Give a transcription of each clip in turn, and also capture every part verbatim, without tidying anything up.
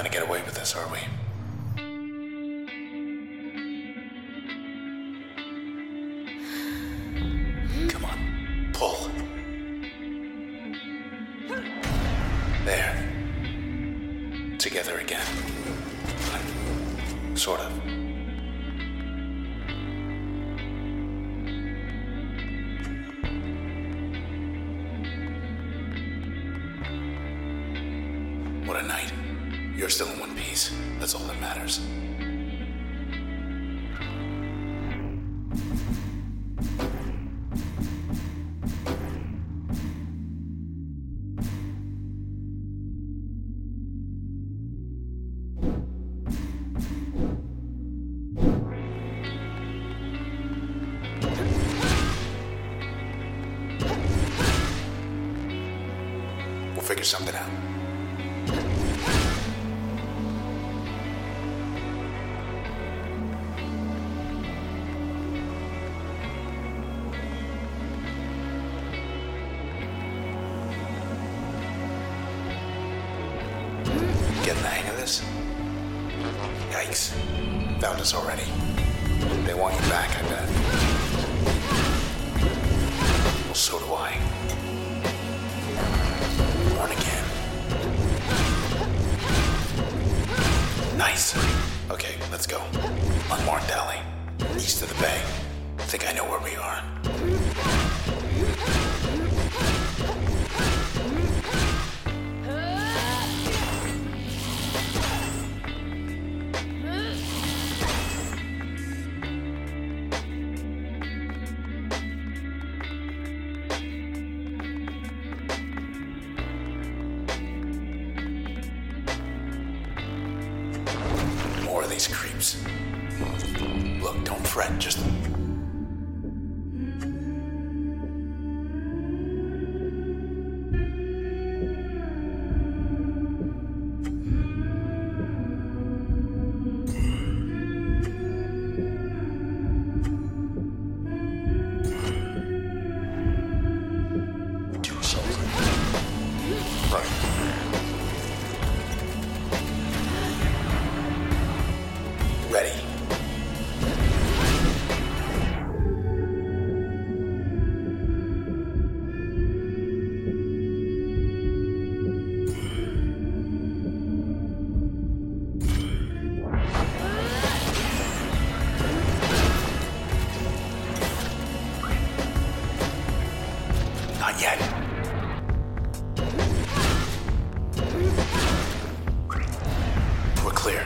gonna get away with this, are we? Come on, pull. There. Together again. Sort of. What a night. You're still in one piece. That's all that matters. We'll figure something out. Getting the hang of this? Yikes. Found us already. They want you back, I bet. Well, so do I. Born again. Nice. Okay, let's go. Unmarked alley. East of the bay. I think I know where we are. More of these creeps. Look, don't fret, just... do something. Right. Ready. Not yet. We're clear.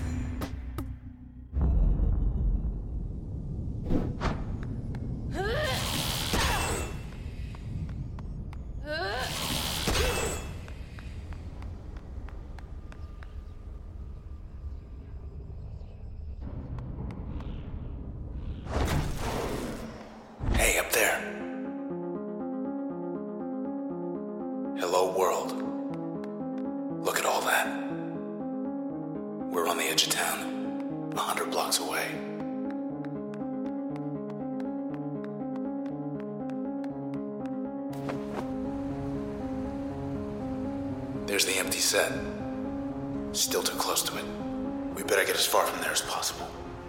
Hey, up there. Hello, world. Look at all that. We're on the edge of town, a hundred blocks away. There's the empty set. Still too close to it. We better get as far from there as possible.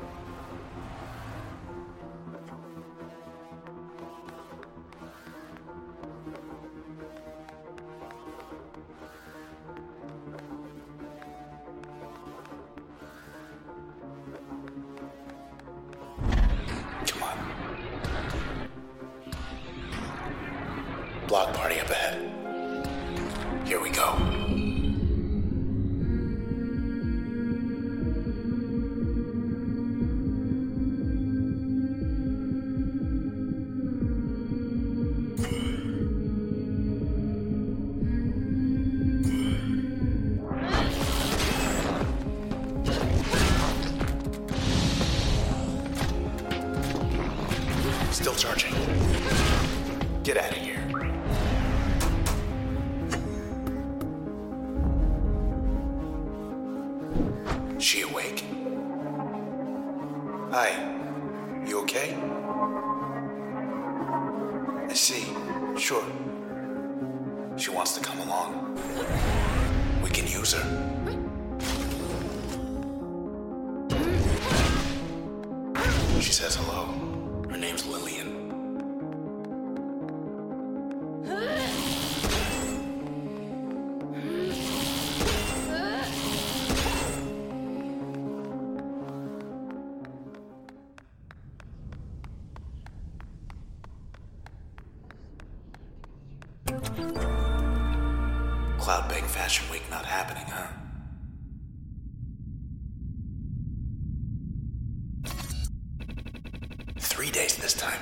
Come on. Block party up ahead. Here we go. Still charging. Get out of here. She awake? Hi. You okay? I see. Sure. She wants to come along. We can use her. She says hello. Her name's Lillian. Cloudbank Fashion Week not happening, huh? Three days this time.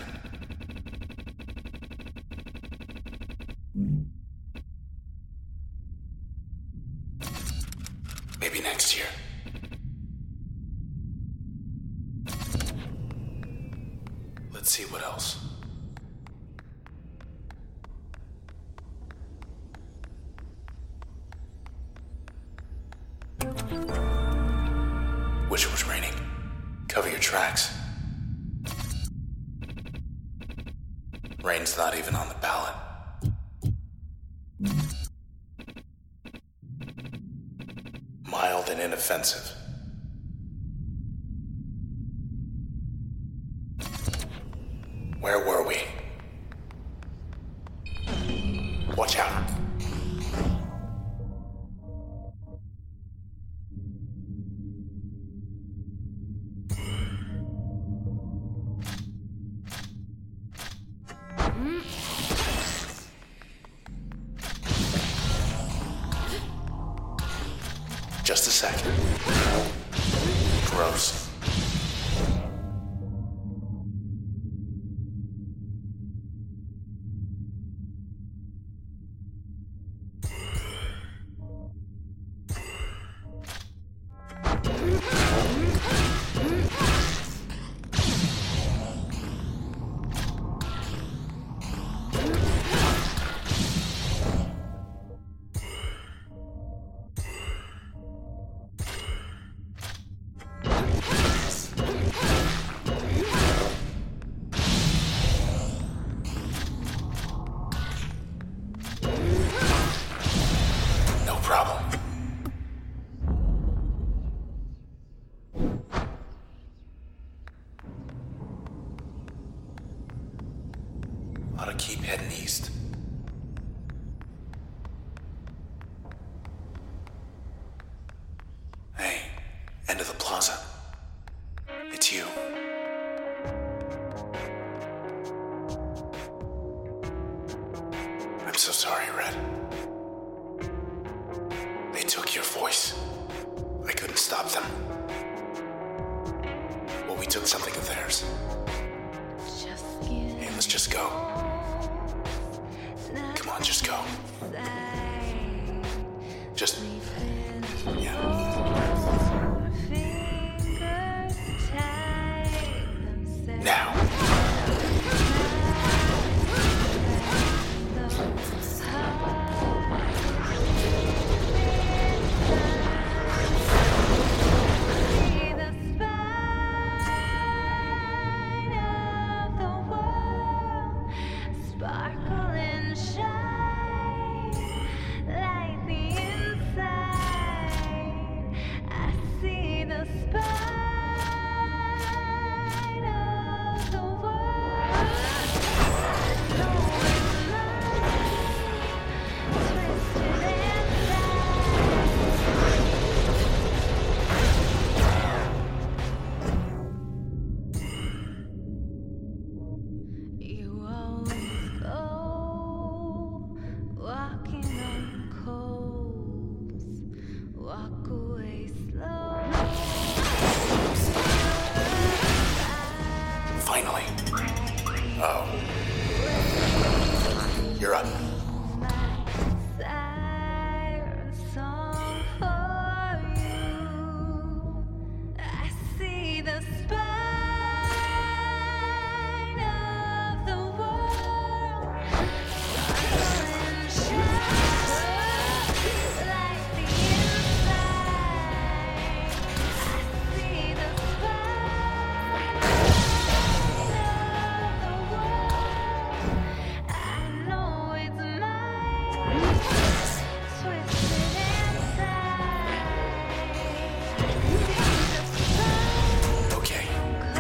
Maybe next year. Let's see what else. Wish it was raining. Cover your tracks. Rain's not even on the ballot. Mild and inoffensive. Where were we? Watch out. Just a second. Gross. Problem. Ought to keep heading east. Hey, end of the plaza. It's you. I'm so sorry, Red. They took your voice. I couldn't stop them. Well, we took something of theirs. Hey, let's just go. Come on, just go. Just... yeah. Now. Sparkle and shine like the inside.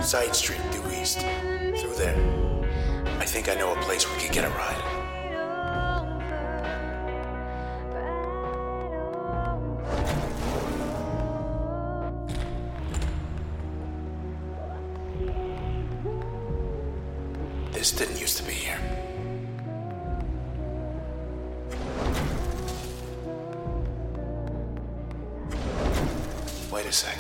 Side street due east. Through there. I think I know a place we could get a ride. This didn't used to be here. Wait a sec.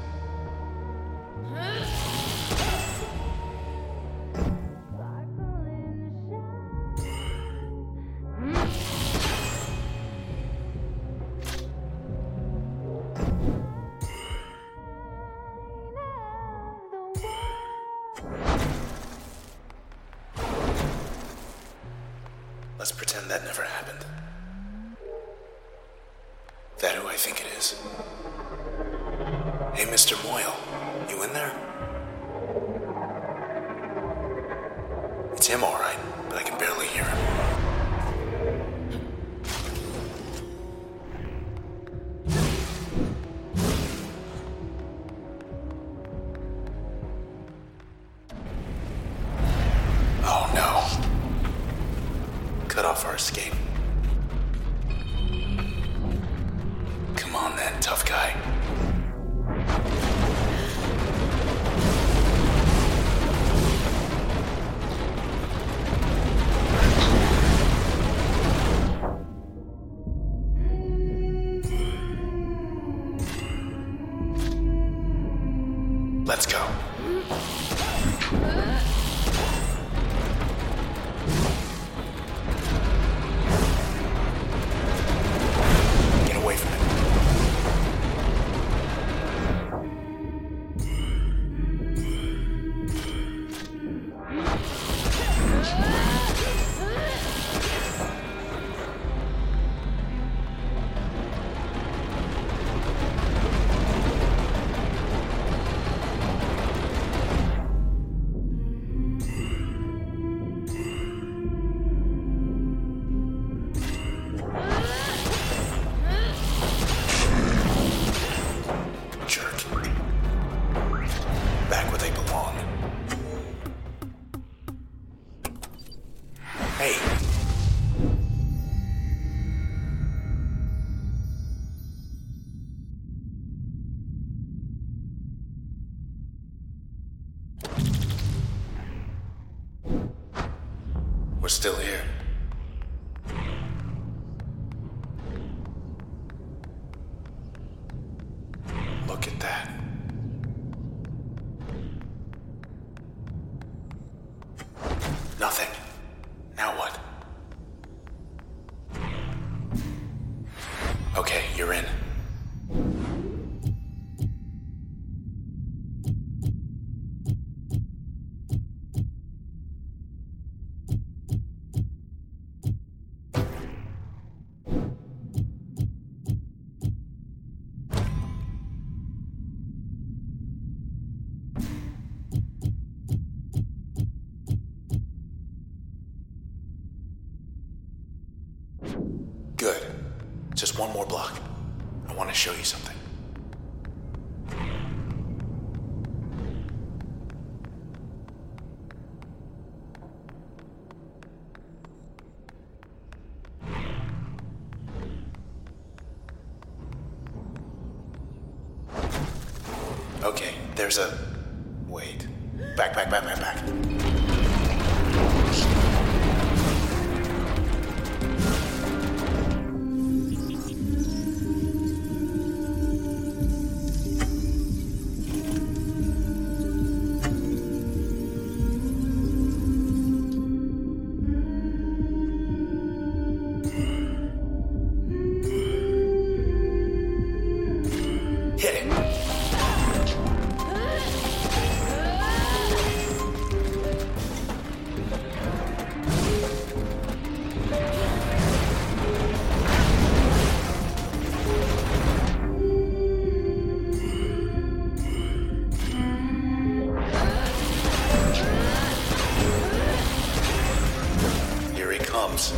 Let's pretend that never happened. That who I think it is? Hey, Mister Moyle, you in there? It's him, all right, but I can barely hear him. Oh, no. Cut off our escape. Come on then, tough guy. Let's go. Get away from it. Hey. We're still here. Look at that. Nothing. Now what? Okay, you're in. Good. Just one more block. I want to show you something. Okay, there's a... Wait. Back, back, back, back, back. Hit it. Here he comes.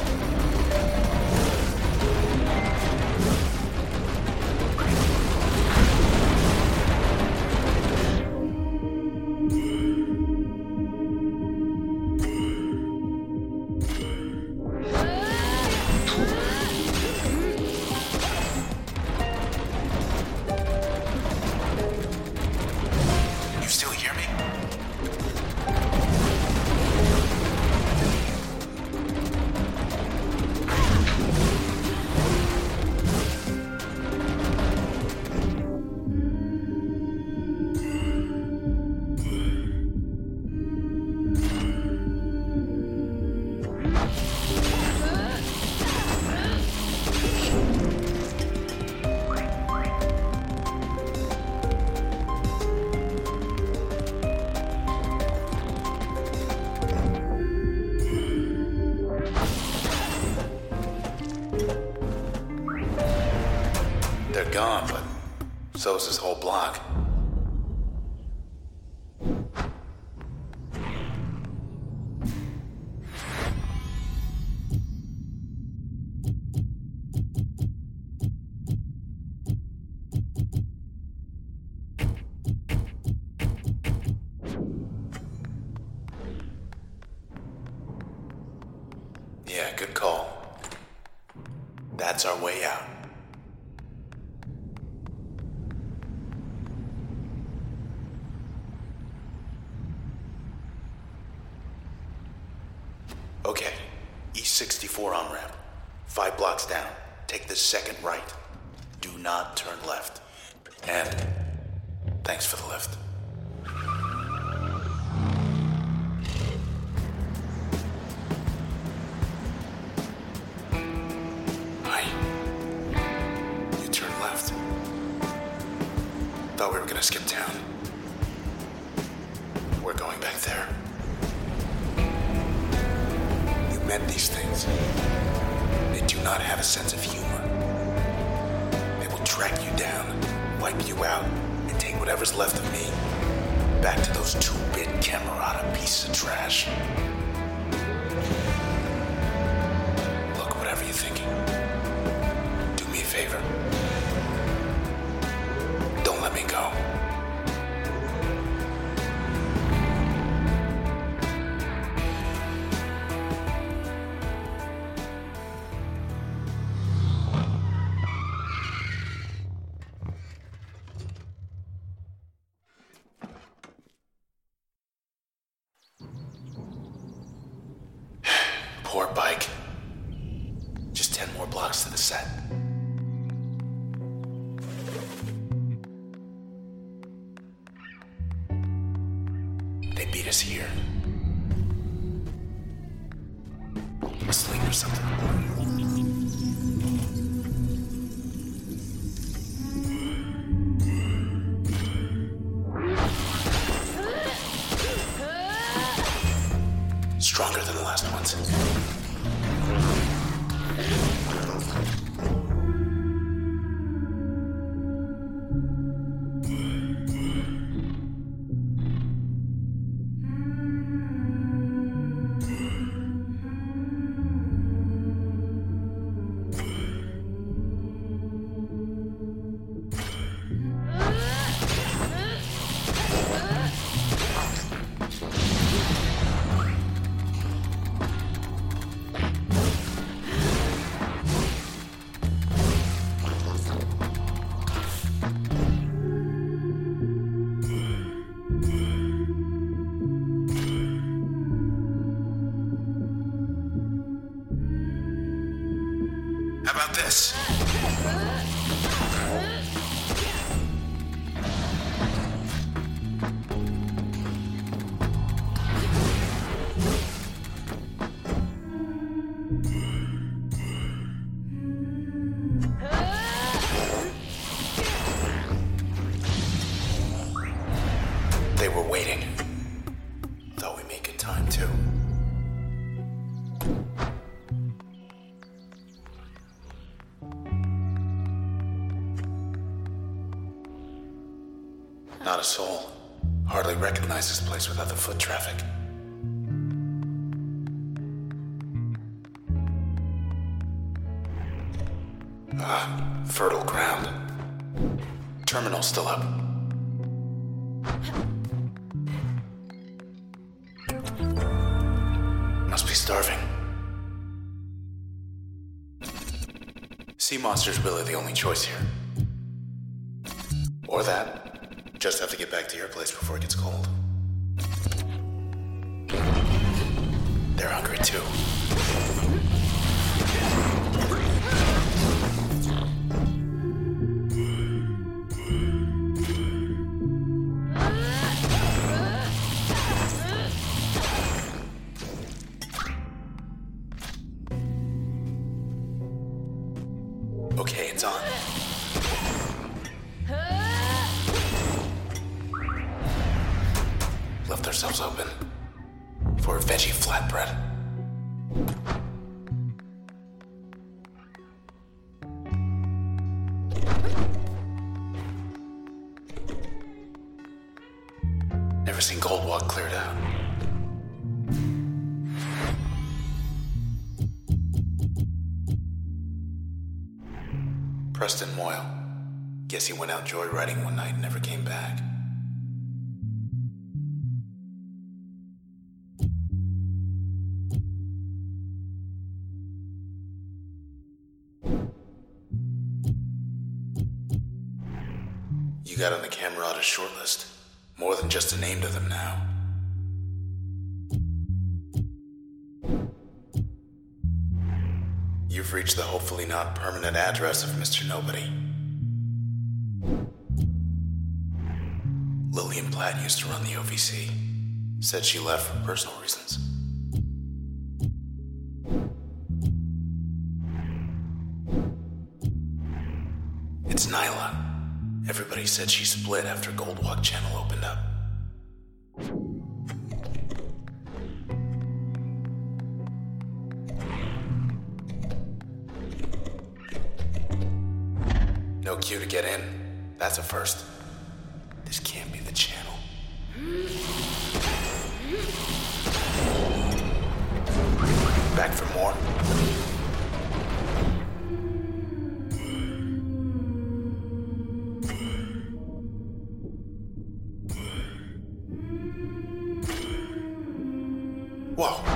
So is this whole block. Yeah, good call. That's our way out. Okay, East sixty-four on-ramp. Five blocks down. Take the second right. Do not turn left. And thanks for the lift. Hi. You turn left. Thought we were gonna skip town. We're going back there. Met these things. They do not have a sense of humor. They will track you down, wipe you out, and take whatever's left of me back to those two-bit Camerata pieces of trash. Look, whatever you're thinking, do me a favor. Don't let me go. Poor bike. Just ten more blocks to the set. They beat us here. Asleep or something. Stronger than the last ones. How about this? They were waiting. Thought we made good time, too. Not a soul. Hardly recognize this place without the foot traffic. Ah, fertile ground. Terminal still up. Must be starving. Sea monster's really the only choice here. Or that. Just have to get back to your place before it gets cold. They're hungry too. Okay, it's on. Left ourselves open for a veggie flatbread. never seen Goldwalk cleared out. Preston Moyle. Guess he went out joyriding one night and never came back. You got on the Camerata shortlist. More than just a name to them now. You've reached the hopefully not permanent address of Mister Nobody. Lillian Platt used to run the O V C. Said she left for personal reasons. It's Nyla. Everybody said she split after Goldwalk Channel opened up. No queue to get in. That's a first. This can't be the channel. Back for more? Whoa.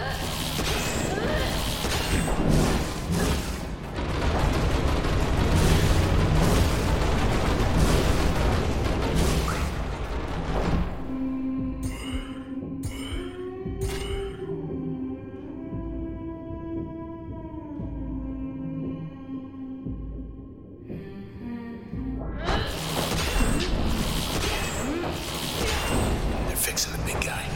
They're fixing the big guy.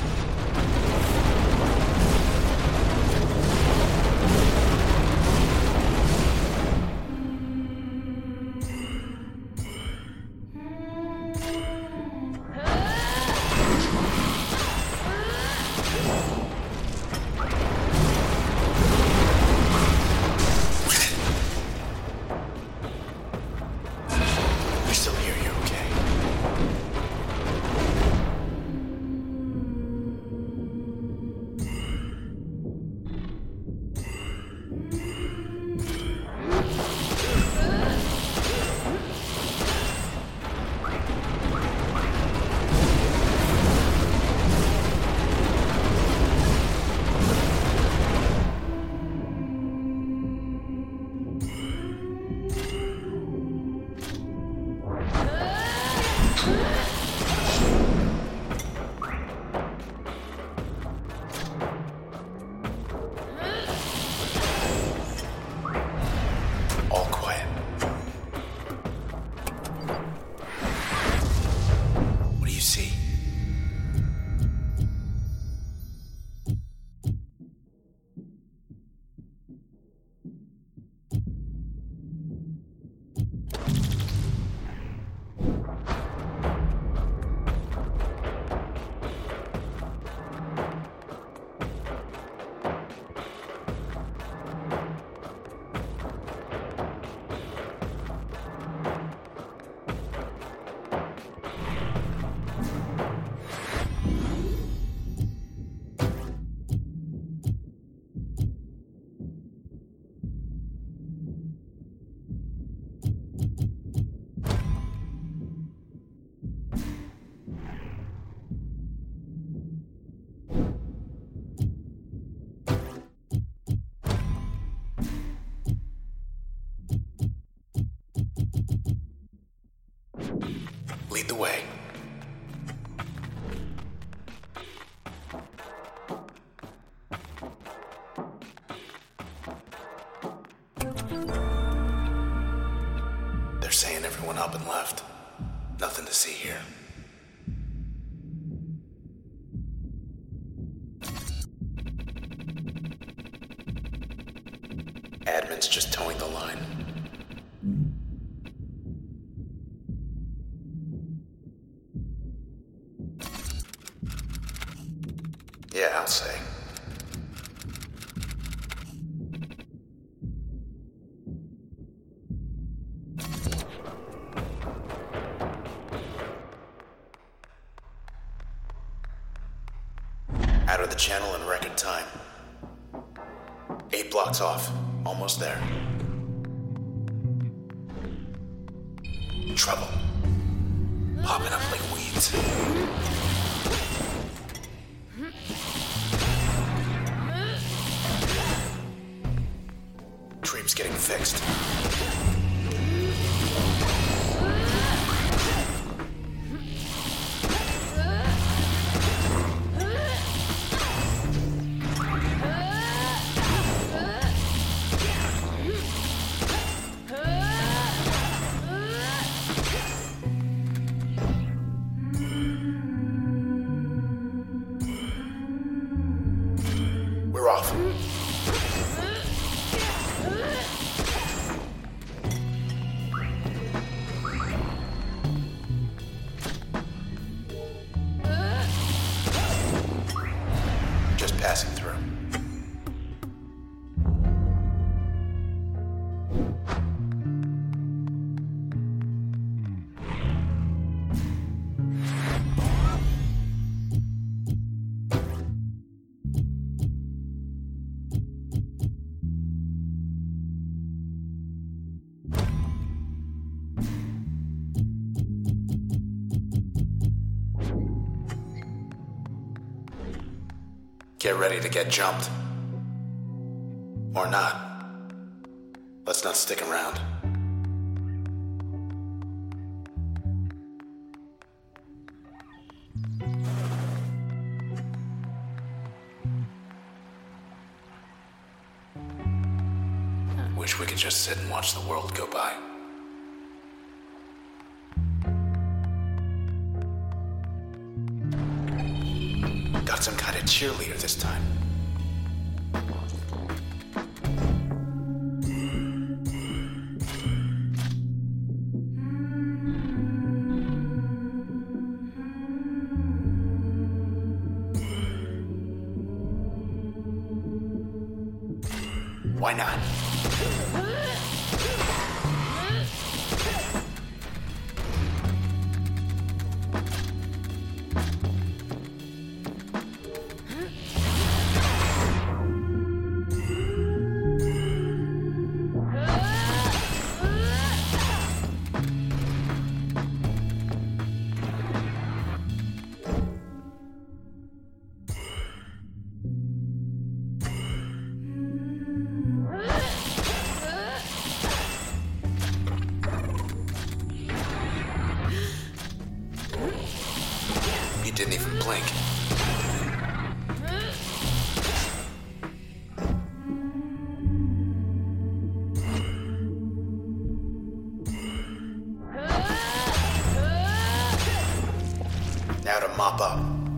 Lead the way. They're saying everyone up and left. Nothing to see here. Admin's just towing the line. Yeah, I'll say. the channel in record time. Eight blocks off. Almost there. Trouble. Popping up like weeds. Treep's getting fixed. We're off. Just passing through. Get ready to get jumped. Or not. Let's not stick around. Wish we could just sit and watch the world go by. Got some kind of cheerleader this time. Why not? He didn't even blink. Now to mop up.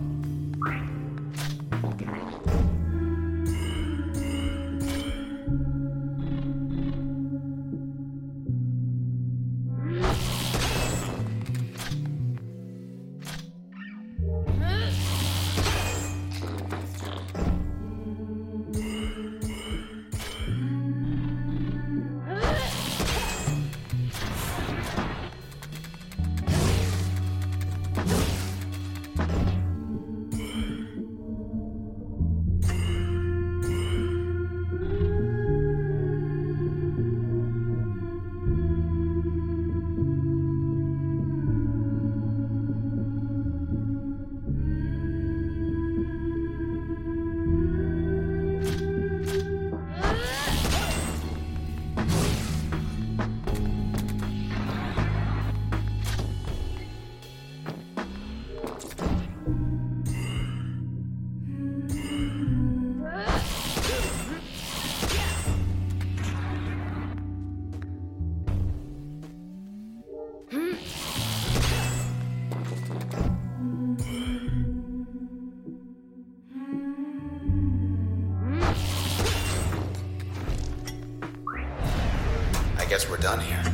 I guess we're done here.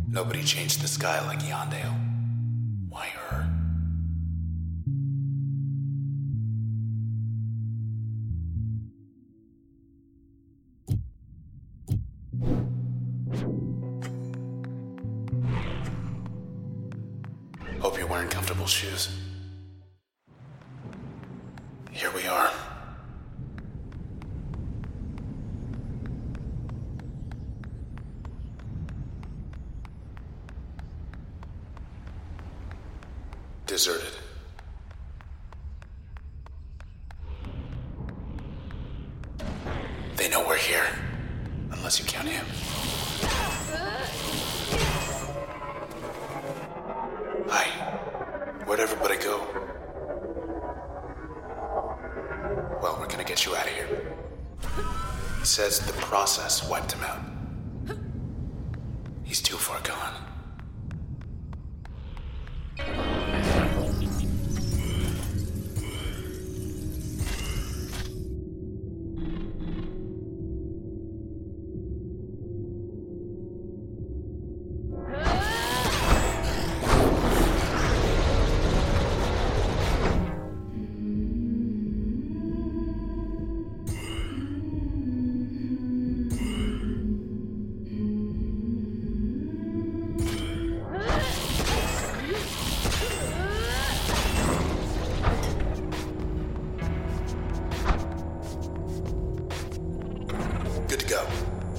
Nobody changed the sky like Yandale. Why her? Hope you're wearing comfortable shoes. Here we are. Deserted. They know we're here, unless you count him. Hi. Where'd everybody go? Well, we're gonna get you out of here. He says the process wiped him out. He's too far gone. Good to go.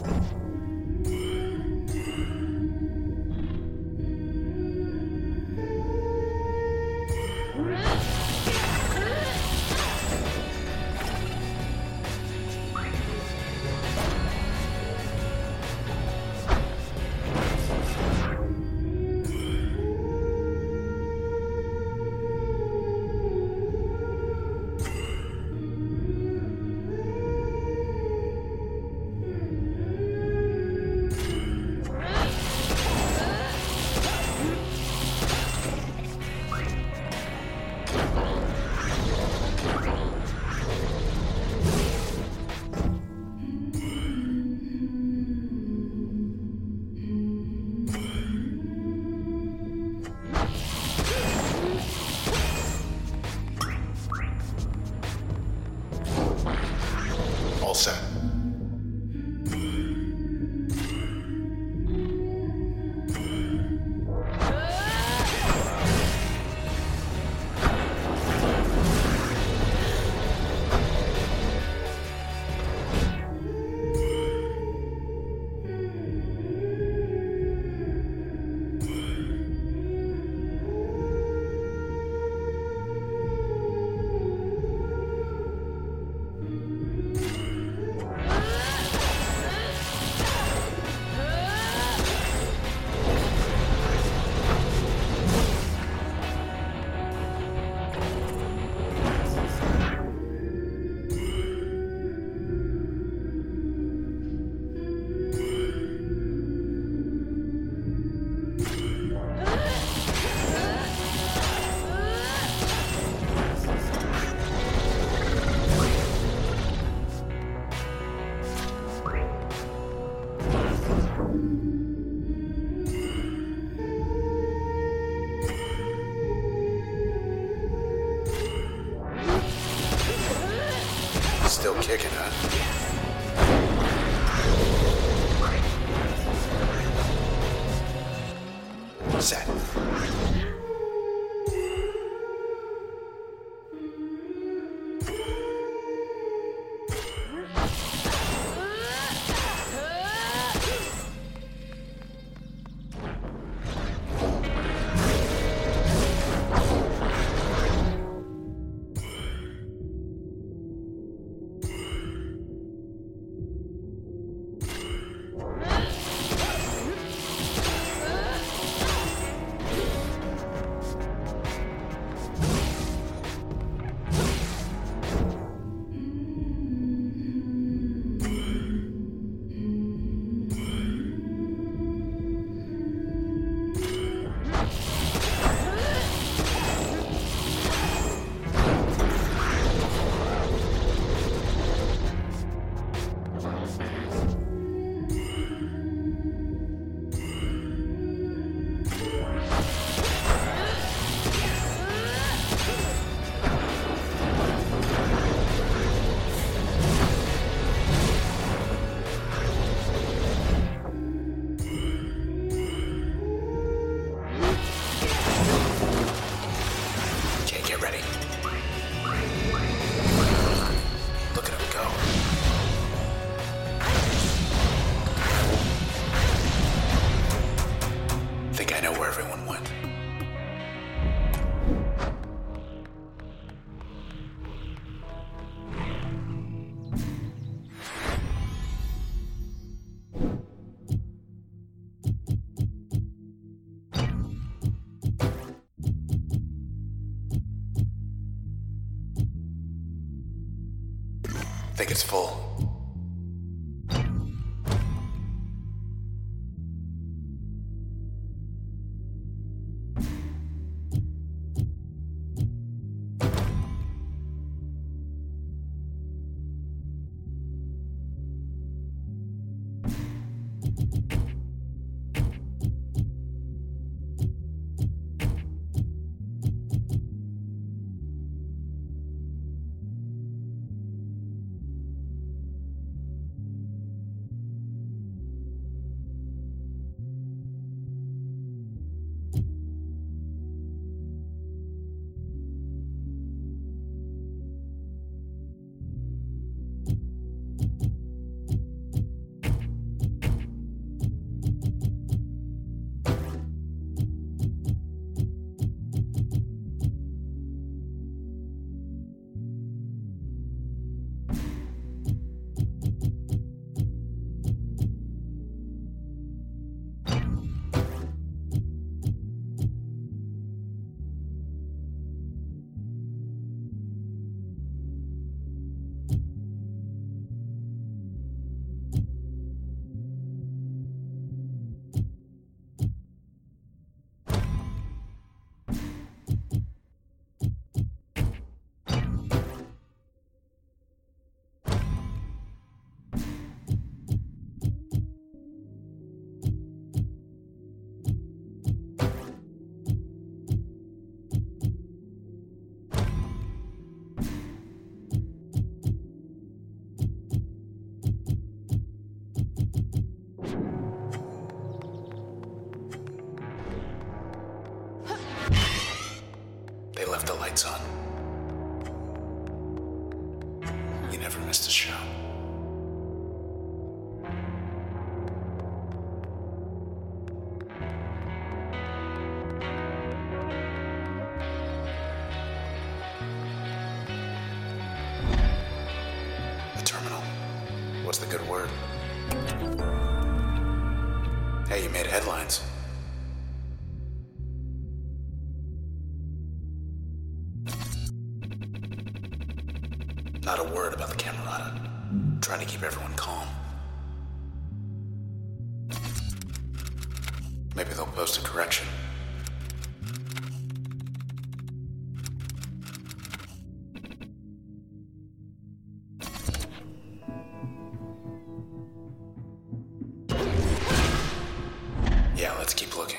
All set. Still kicking, huh? Set. think it's full. They left the lights on. You never missed a show. The terminal. What's the good word? Hey, you made headlines. Not a word about the Camerata. Trying to keep everyone calm. Maybe they'll post a correction. Yeah, let's keep looking.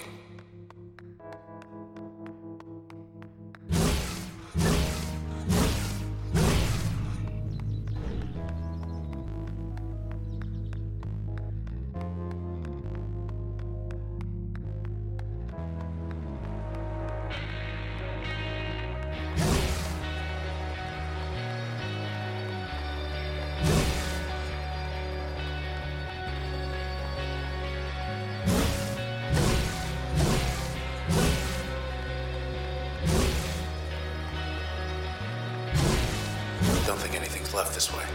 Don't think anything's left this way.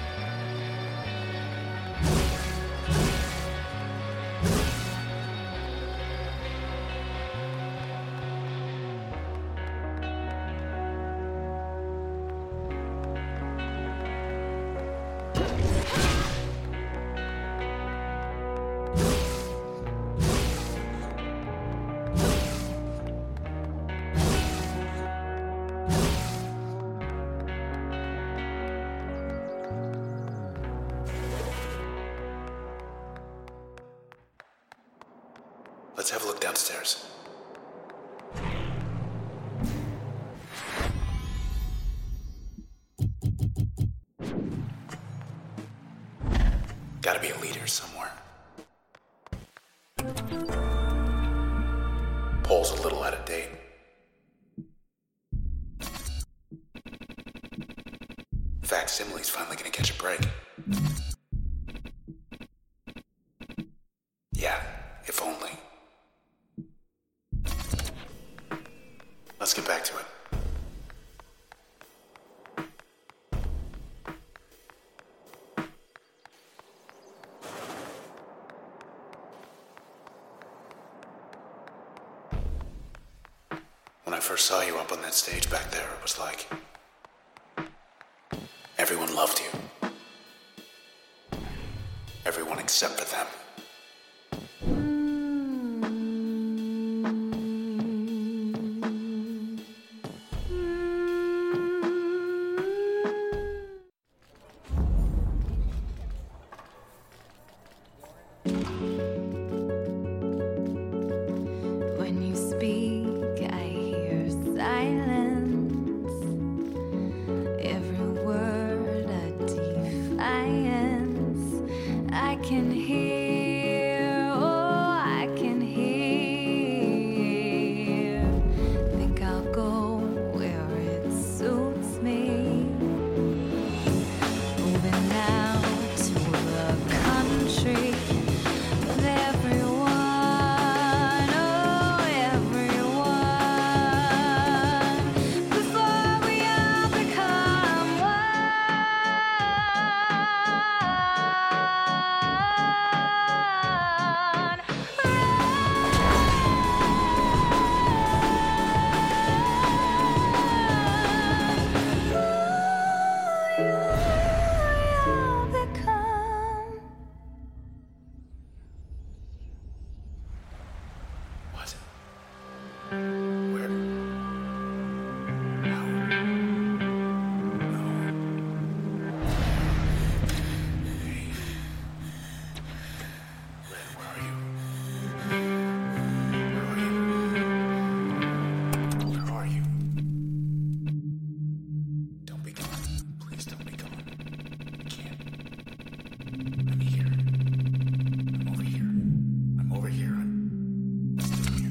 Let's have a look downstairs. Gotta be a leader somewhere. Pole's a little out of date. Facsimile's finally gonna catch a break. Yeah, if only. Let's get back to it. When I first saw you up on that stage back there, it was like everyone loved you. Everyone except for them. When you speak, I hear silence. Every word a defiance. I can hear, oh, I can hear. Think I'll go where it suits me. Moving now to the country with everyone, oh, everyone. Before we all become one. You'll become. What? Where? How? No. Hey. Red, where are you? Where are you? Where are you? Don't be gone. Please don't be gone. I can't. I'm here. I'm over here. I'm over here. I'm still here.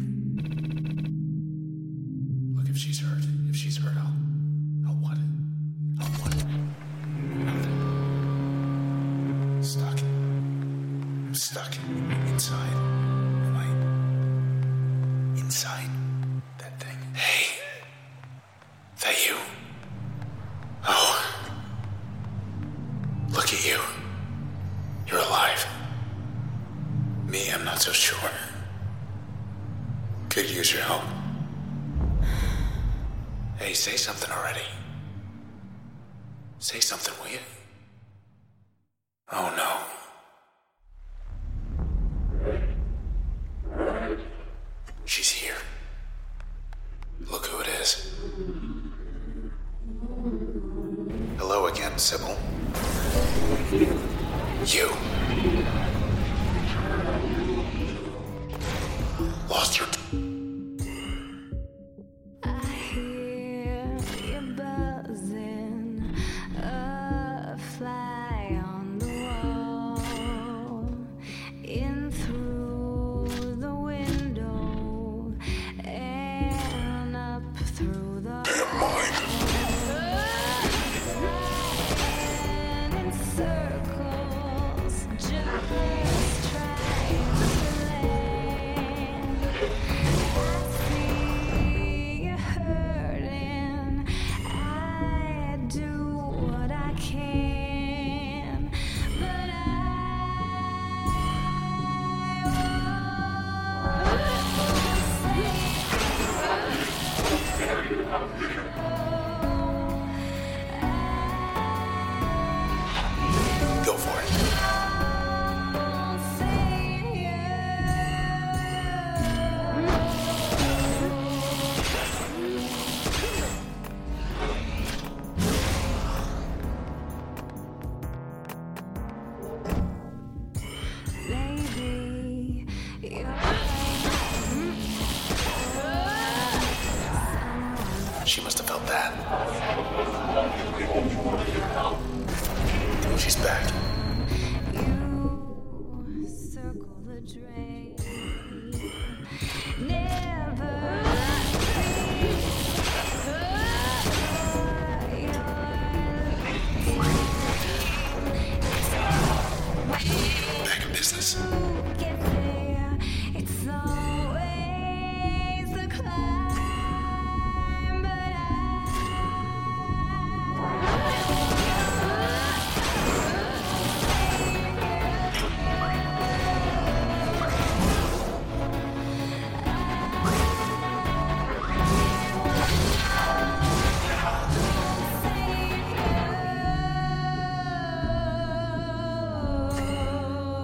Look, if she's hurt, if she's hurt, I'll, I'll what? I'll what? Nothing. Stuck. I'm stuck inside. Am I inside that thing? Hey, that you? Oh, look at you. You're alive. Me, I'm not so sure. Could use your help. Hey, say something already. Say something, will you? Oh no. She's here. Look who it is. Hello again, Sybil. You. Lost your... I hear you buzzing, a fly on the wall, in through the window, and up through the and in circles, just trying to land. I see you hurting. I do what I can, but I Go for it. won't save you. Maybe you're She must have felt that. She's back. You circle the drain. Never Back in business. get there. It's always the climb, but I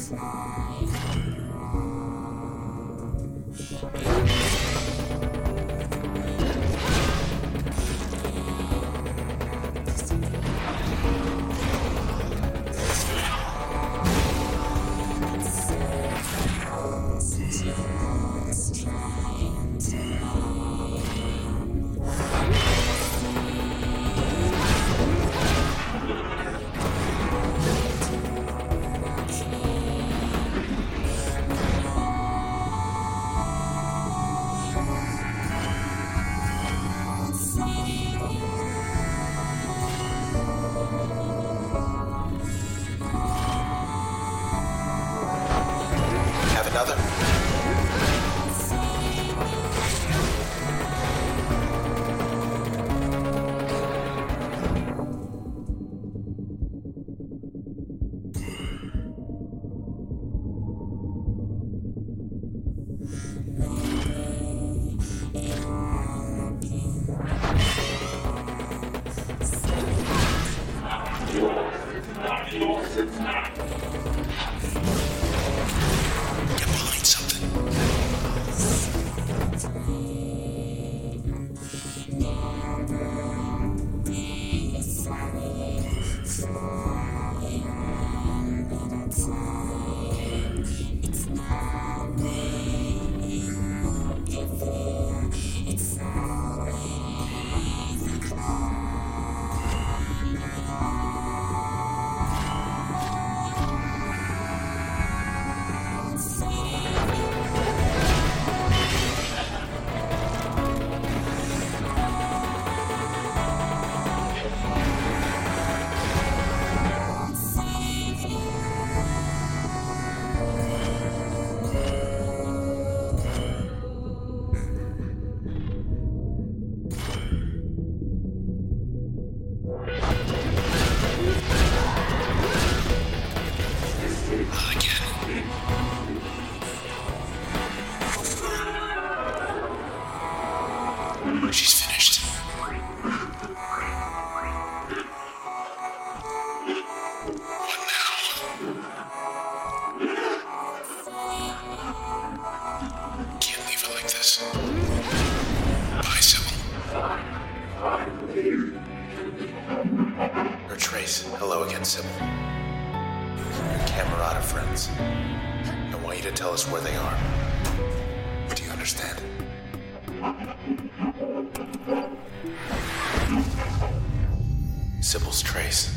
Sybil's trace.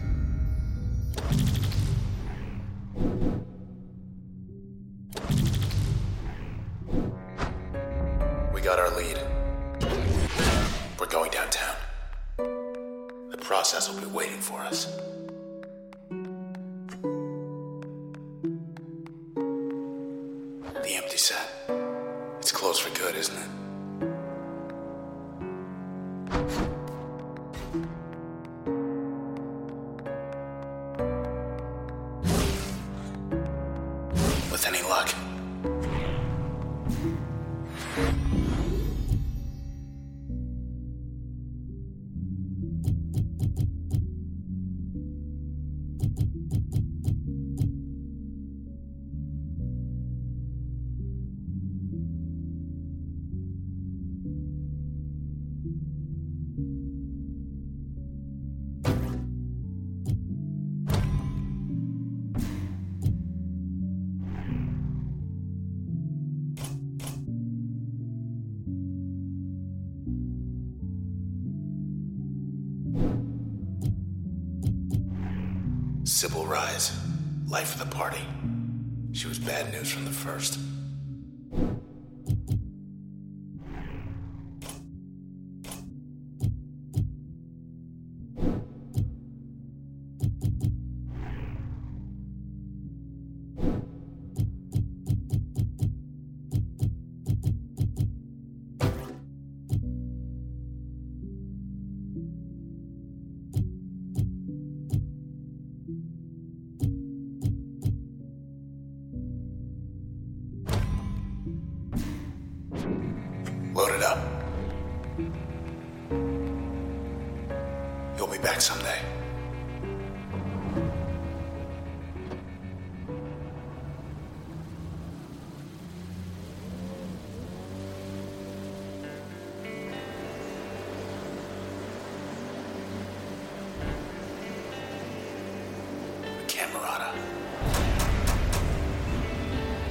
We got our lead. We're going downtown. The process will be waiting for us. The empty set. It's closed for good, isn't it? With any luck. Sybil Rise, life of the party. She was bad news from the first. Load it up. You'll be back someday.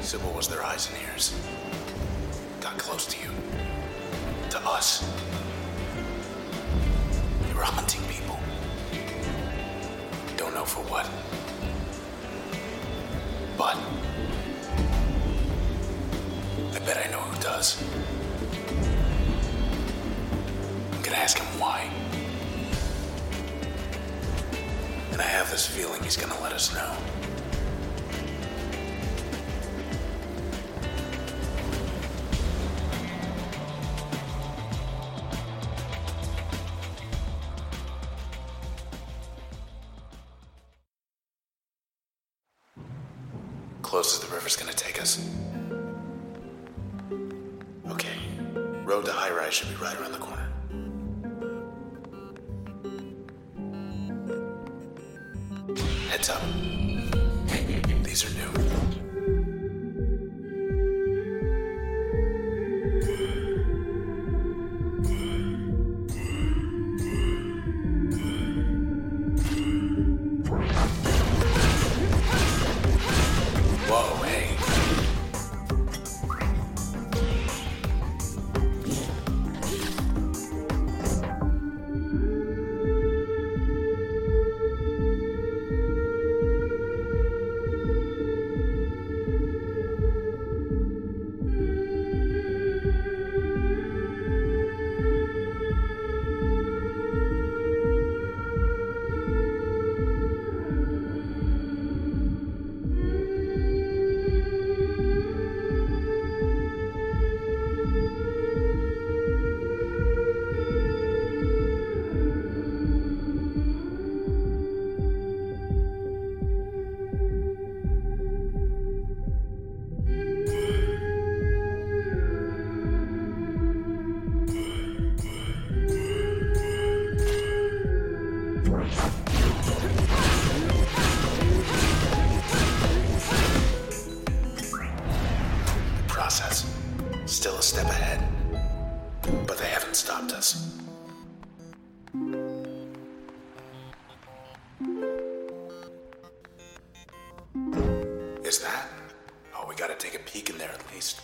Sybil was their eyes and ears. Got close to you. To us. You were hunting people. Don't know for what. But I bet I know who does. I'm gonna ask him why. And I have this feeling he's gonna let us know. Close as the river's gonna take us. Okay, road to High Rise should be right around the corner. Heads up. These are new. Whoa, hey. Process. Still a step ahead. But they haven't stopped us. Is that? Oh, we gotta take a peek in there at least.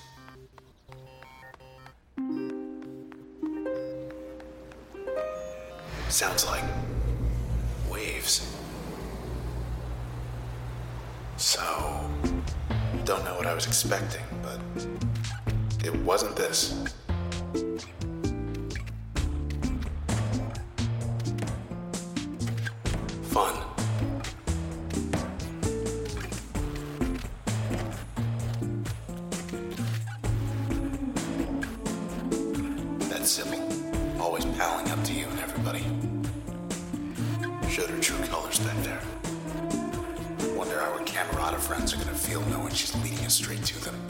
Sounds like waves. So, don't know what I was expecting, but it wasn't this. Fun. That's Sybil, always palling up to you and everybody. Showed her true colors back there. Wonder how her Camerata friends are gonna feel knowing she's leading us straight to them.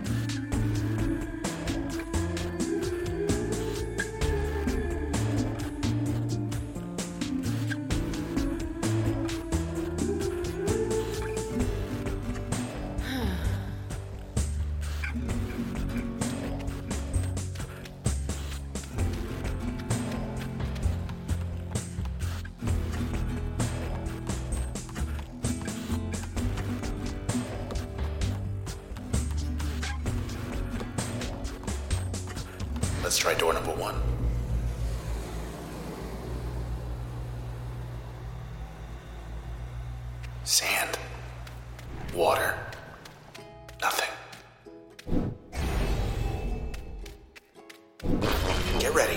Let's try door number one. Sand. Water. Nothing. Get ready.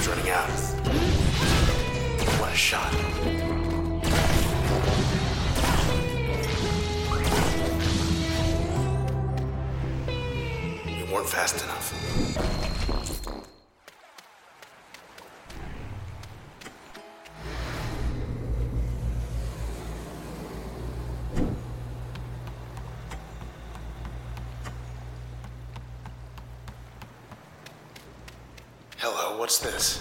Time's running out. What a shot. You weren't fast enough. Hello, what's this?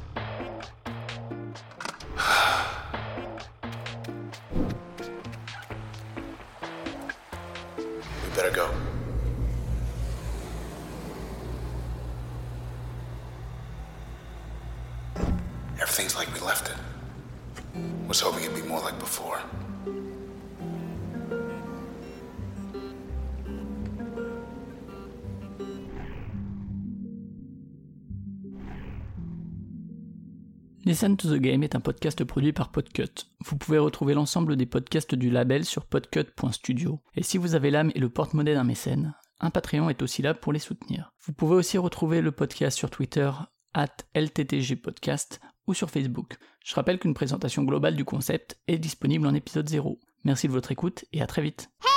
We better go. Everything's like we left it. Was hoping it'd be more like before. Listen to the Game est un podcast produit par Podcut. Vous pouvez retrouver l'ensemble des podcasts du label sur podcut point studio. Et si vous avez l'âme et le porte-monnaie d'un mécène, un Patreon est aussi là pour les soutenir. Vous pouvez aussi retrouver le podcast sur Twitter arobase L T T G podcast ou sur Facebook. Je rappelle qu'une présentation globale du concept est disponible en épisode zéro. Merci de votre écoute et à très vite.